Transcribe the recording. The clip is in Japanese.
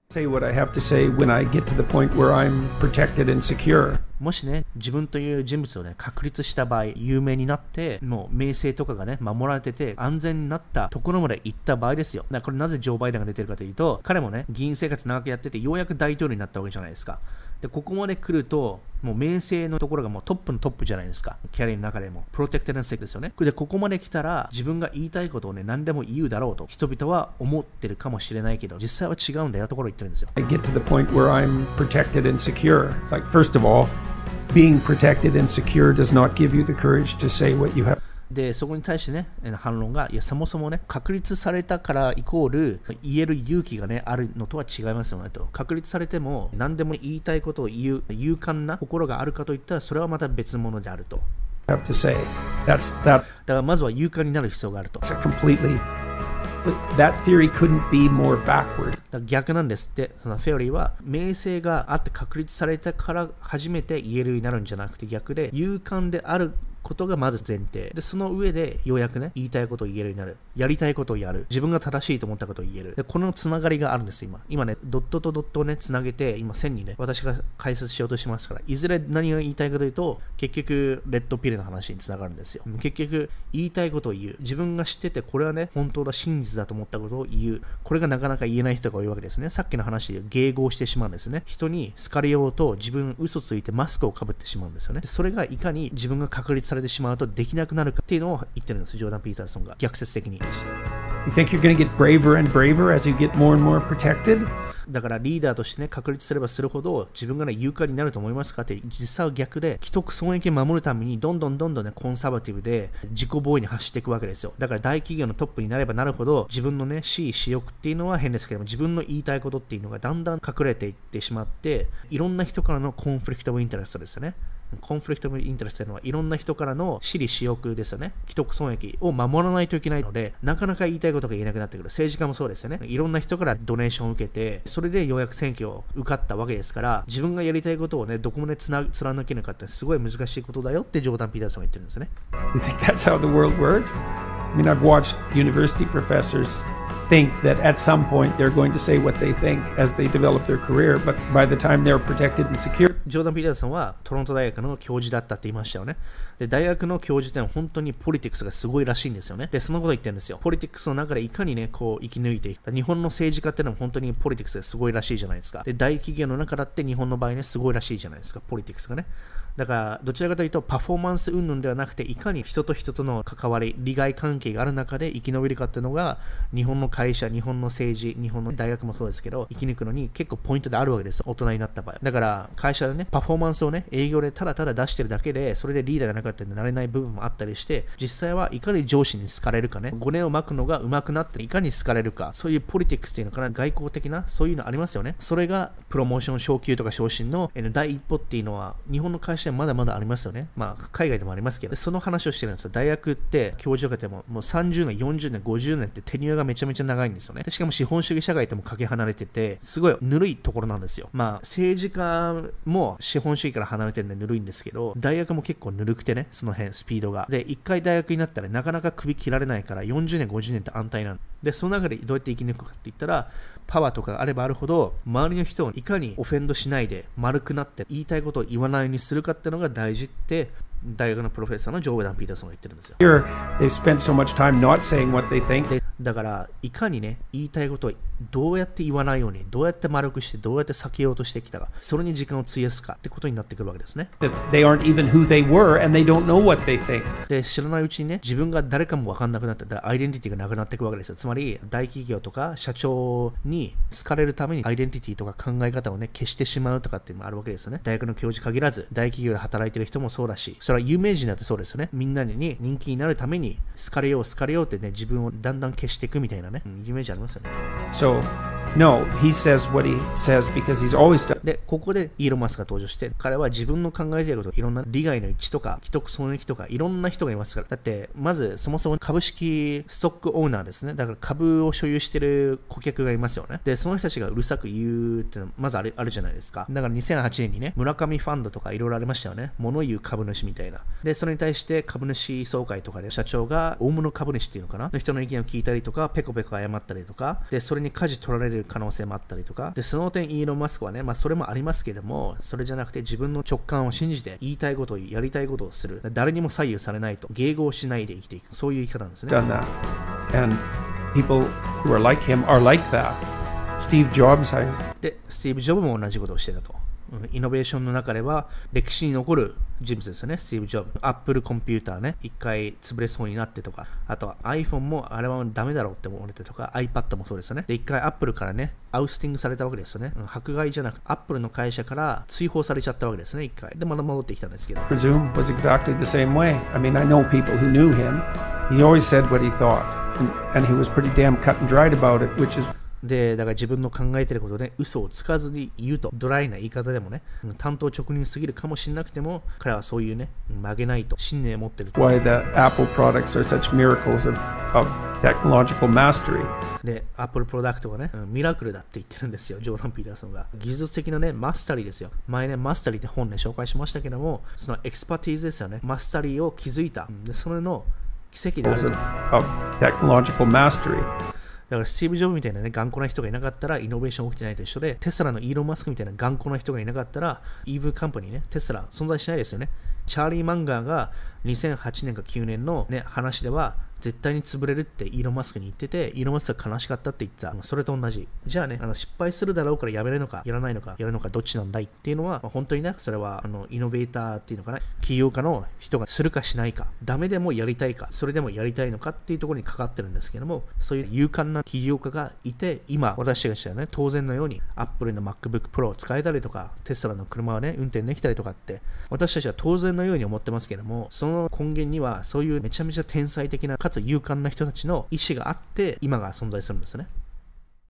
Say what I have to say when I get to the point where I'm protected and secure. もしね、自分という人物をね、確立した場合、有名になって、もう名声とかがね、守られてて、安全になったところまで行った場合ですよ。だからこれなぜジョー・バイデンが出てるかというと、彼もね、議員生活長くやってて、ようやく大統領になったわけじゃないですか。で、ここまで来ると、もう名声のところがもうトップのトップじゃないですか。キャリアの中でも。プロテクテッドセクですよね。で、ここまで来たら、自分が言いたいことをね、何でも言うだろうと、人々は思ってるかもしれないけど、実際は違うんだよところを言ってるんですよ。 I get to the point where I'm protected and secure. It's like, first of all, being protected and secure does not give you the courage to say what you have. で、そこに対してね、反論が、いや、そもそもね、確立されたからイコール、言える勇気がね、あるのとは違いますよねと。確立されても、何でも言いたいことを言う、勇敢な心があるかといったら、それはまた別物であると。 Have to say. That. だからまずは勇敢になる必要があると。 That theory couldn't be more backward. だから逆なんですって、そのフェオリーは名声があって確立されたから初めて言えるようになるんじゃなくて、逆で勇敢であることがまず前提で、その上でようやくね、言いたいことを言えるようになる、やりたいことをやる、自分が正しいと思ったことを言える。で、このつながりがあるんです。今ね、ドットとドットをね、つなげて、今線にね、私が解説しようとしますから、いずれ何が言いたいかというと、結局レッドピルの話につながるんですよ。結局言いたいことを言う、自分が知っててこれはね、本当だ、真実だと思ったことを言う、これがなかなか言えない人が多いわけですね。さっきの話で迎合してしまうんですね。人に好かれようと自分嘘ついてマスクをかぶってしまうんですよね。それがいかに自分が確立されてしまうとできなくなるかっていうのを言ってるんです、ジョーダン・ピーターソンが逆説的に。 You think you're going to get braver and braver as you get more and more protected? だからリーダーとしてね、確立すればするほど自分がね、勇敢になると思いますかって、実際は逆で、既得損益を守るためにどんどんね、コンサバティブで自己防衛に走っていくわけですよ。だから大企業のトップになればなるほど、自分のね、私意私欲っていうのは変ですけども、自分の言いたいことっていうのがだんだん隠れていってしまって、いろんな人からのコンフリクト・オブ・インタレストですよね。コンフリクト・オブ・インタレストというのはいろんな人からの私利私欲ですよね。既得損益を守らないといけないので、なかなか言いたいことが言えなくなってくる。政治家もそうですよね。いろんな人からドネーションを受けて、それでようやく選挙を受かったわけですから、自分がやりたいことをね、どこまで貫けるかってすごい難しいことだよってジョーダン・ピーターソンが言ってるんですね。 You think that's how the world works? I mean, I've watched university professors think that at some point they're going to say what they think as they develop their career, but by the time they're protected and secure. ジョーダン・ピーターソンはトロント大学の教授だったって言いましたよね。で、大学の教授ってのは本当にポリティクスがすごいらしいんですよね。で、そのこと言ってるんですよ。ポリティクスの中でいかにね、こう生き抜いていく。日本の政治家ってのは本当にポリティクスがすごいらしいじゃないですか。で、大企業の中だって日本の場合ね、すごいらしいじゃないですか、ポリティクスがね。だからどちらかというとパフォーマンス云々ではなくて、いかに人と人との関わり、利害関係がある中で生き延びるかっていうのが、日本の会社、日本の政治、日本の大学もそうですけど、生き抜くのに結構ポイントであるわけですよ、大人になった場合。だから会社でね、パフォーマンスをね、営業でただただ出してるだけで、それでリーダーがなかったんでなれない部分もあったりして、実際はいかに上司に好かれるかね、5年を巻くのが上手くなっていかに好かれるか、そういうポリティクスっていうのかな、外交的なそういうのありますよね。それがプロモーション昇給とか昇進の第一歩っていうのは日本の会社はまだまだありますよね。まあ海外でもありますけど、その話をしてるんですよ。大学って教授がてももう30年、40年、50年ってテニュアがめちゃめちゃ長いんですよね。でしかも資本主義社会ともかけ離れてて、すごいぬるいところなんですよ。まあ政治家も資本主義から離れてるんでぬるいんですけど、大学も結構ぬるくてね、その辺スピードが。で、一回大学になったらなかなか首切られないから40年、50年って安泰なんで、その中でどうやって生き抜くかって言ったら、パワーとかがあればあるほど、周りの人をいかにオフェンドしないで丸くなって言いたいことを言わないようにするかっていうのが大事って大学のプロフェッサーのジョーダン・ピーターソンが言ってるんですよ。 Here, they've spent so much time not saying what they think. だからいかにね、言いたいことをどうやって言わないように、どうやって丸くして、どうやって避けようとしてきたか、それに時間を費やすかってことになってくるわけですね。 That they aren't even who they were and they don't know what they think. で、知らないうちにね、自分が誰かも分かんなくなって、アイデンティティがなくなっていくわけですよ。つまり大企業とか社長に好かれるためにアイデンティティとか考え方をね、消してしまうとかっていうのもあるわけですよね。大学の教授限らず大企業で働いてる人もそうだし、それは有名人だってそうですよね。みんなに人気になるために好かれようってね、自分をだんだん消していくみたいなね、イメージありますよね。 So, no, he says what he says because he's always done. で、ここでイーロン・マスクが登場して、彼は自分の考えていること、いろんな利害の一致とか、既得損益とか、いろんな人がいますから。だって、まず、そもそも株式ストックオーナーですね。だから株を所有している顧客がいますよね。で、その人たちがうるさく言うっていうのは、まずあるじゃないですか。だから2008年にね、村上ファンドとかいろいろありましたよね。物言う株主みたいな。で、それに対して株主総会とかで社長が大物株主っていうのかなの人の意見を聞いたりとか、ペコペコ謝ったりとか、で、それに舵取られるる可能性もあったりとか、で、その点イーロン・マスクはね、まあそれもありますけども、それじゃなくて自分の直感を信じて言いたいことをやりたいことをする。誰にも左右されないと、迎合しないで生きていく。そういう生き方なんですね。 Done that. And people who are like him are like that. Steve Jobs, で、スティーブ・ジョブも同じことをしてたと。イノベーションの中では歴史に残る人物ですよね、スティーブ・ジョブ。アップルコンピューターね、一回潰れそうになってとか、あとは iPhone もあれはダメだろうって思われてとか、iPad もそうですよね。で、一回アップルからね、アウスティングされたわけですよね。迫害じゃなく、アップルの会社から追放されちゃったわけですね、一回。で、また戻ってきたんですけど。 presume, was exactly the same way. I mean, I know people who knew him. He always said what he thought. And he was pretty damn cut and dried about it, which is で、だから自分の考えてることで嘘をつかずに言うと、ドライな言い方でもね、単刀直入すぎるかもしれなくても、彼はそういうね、曲げないと信念を持ってると。 why the Apple products are such miracles of technological mastery. で、Apple プロダクトがね、ミラクルだって言ってるんですよ、ジョーダン・ピーターソンが。技術的なね、マスタリーですよ。前ね、マスタリーって本ね、紹介しましたけども、そのエクスパティーズですよね。マスタリーを築いた。で、それの奇跡である。 of technological mastery. だからスティーブ・ジョブみたいなね、頑固な人がいなかったらイノベーション起きてないと一緒で、テスラのイーロン・マスクみたいな頑固な人がいなかったら、イーブカンパニーね、テスラ存在しないですよね。チャーリー・マンガーが2008年か9年の、ね、話では、絶対に潰れるってイーロン・マスクに言ってて、イーロン・マスクが悲しかったって言ってた。それと同じ。じゃあね、失敗するだろうからやめるのか、やらないのか、やるのか、どっちなんだいっていうのは、本当にね、それはイノベーターっていうのかな、起業家の人がするかしないか、ダメでもやりたいか、それでもやりたいのかっていうところにかかってるんですけども、そういう勇敢な起業家がいて、今、私たちはね、当然のように、Apple の MacBook Pro を使えたりとか、テスラの車をね、運転できたりとかって、私たちは当然のように思ってますけども、その根源には、そういうめちゃめちゃ天才的な、かつ勇敢な人たちの意思があって、今が存在するんですね。